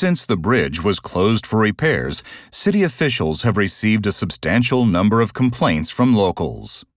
Since the bridge was closed for repairs, city officials have received a substantial number of complaints from locals.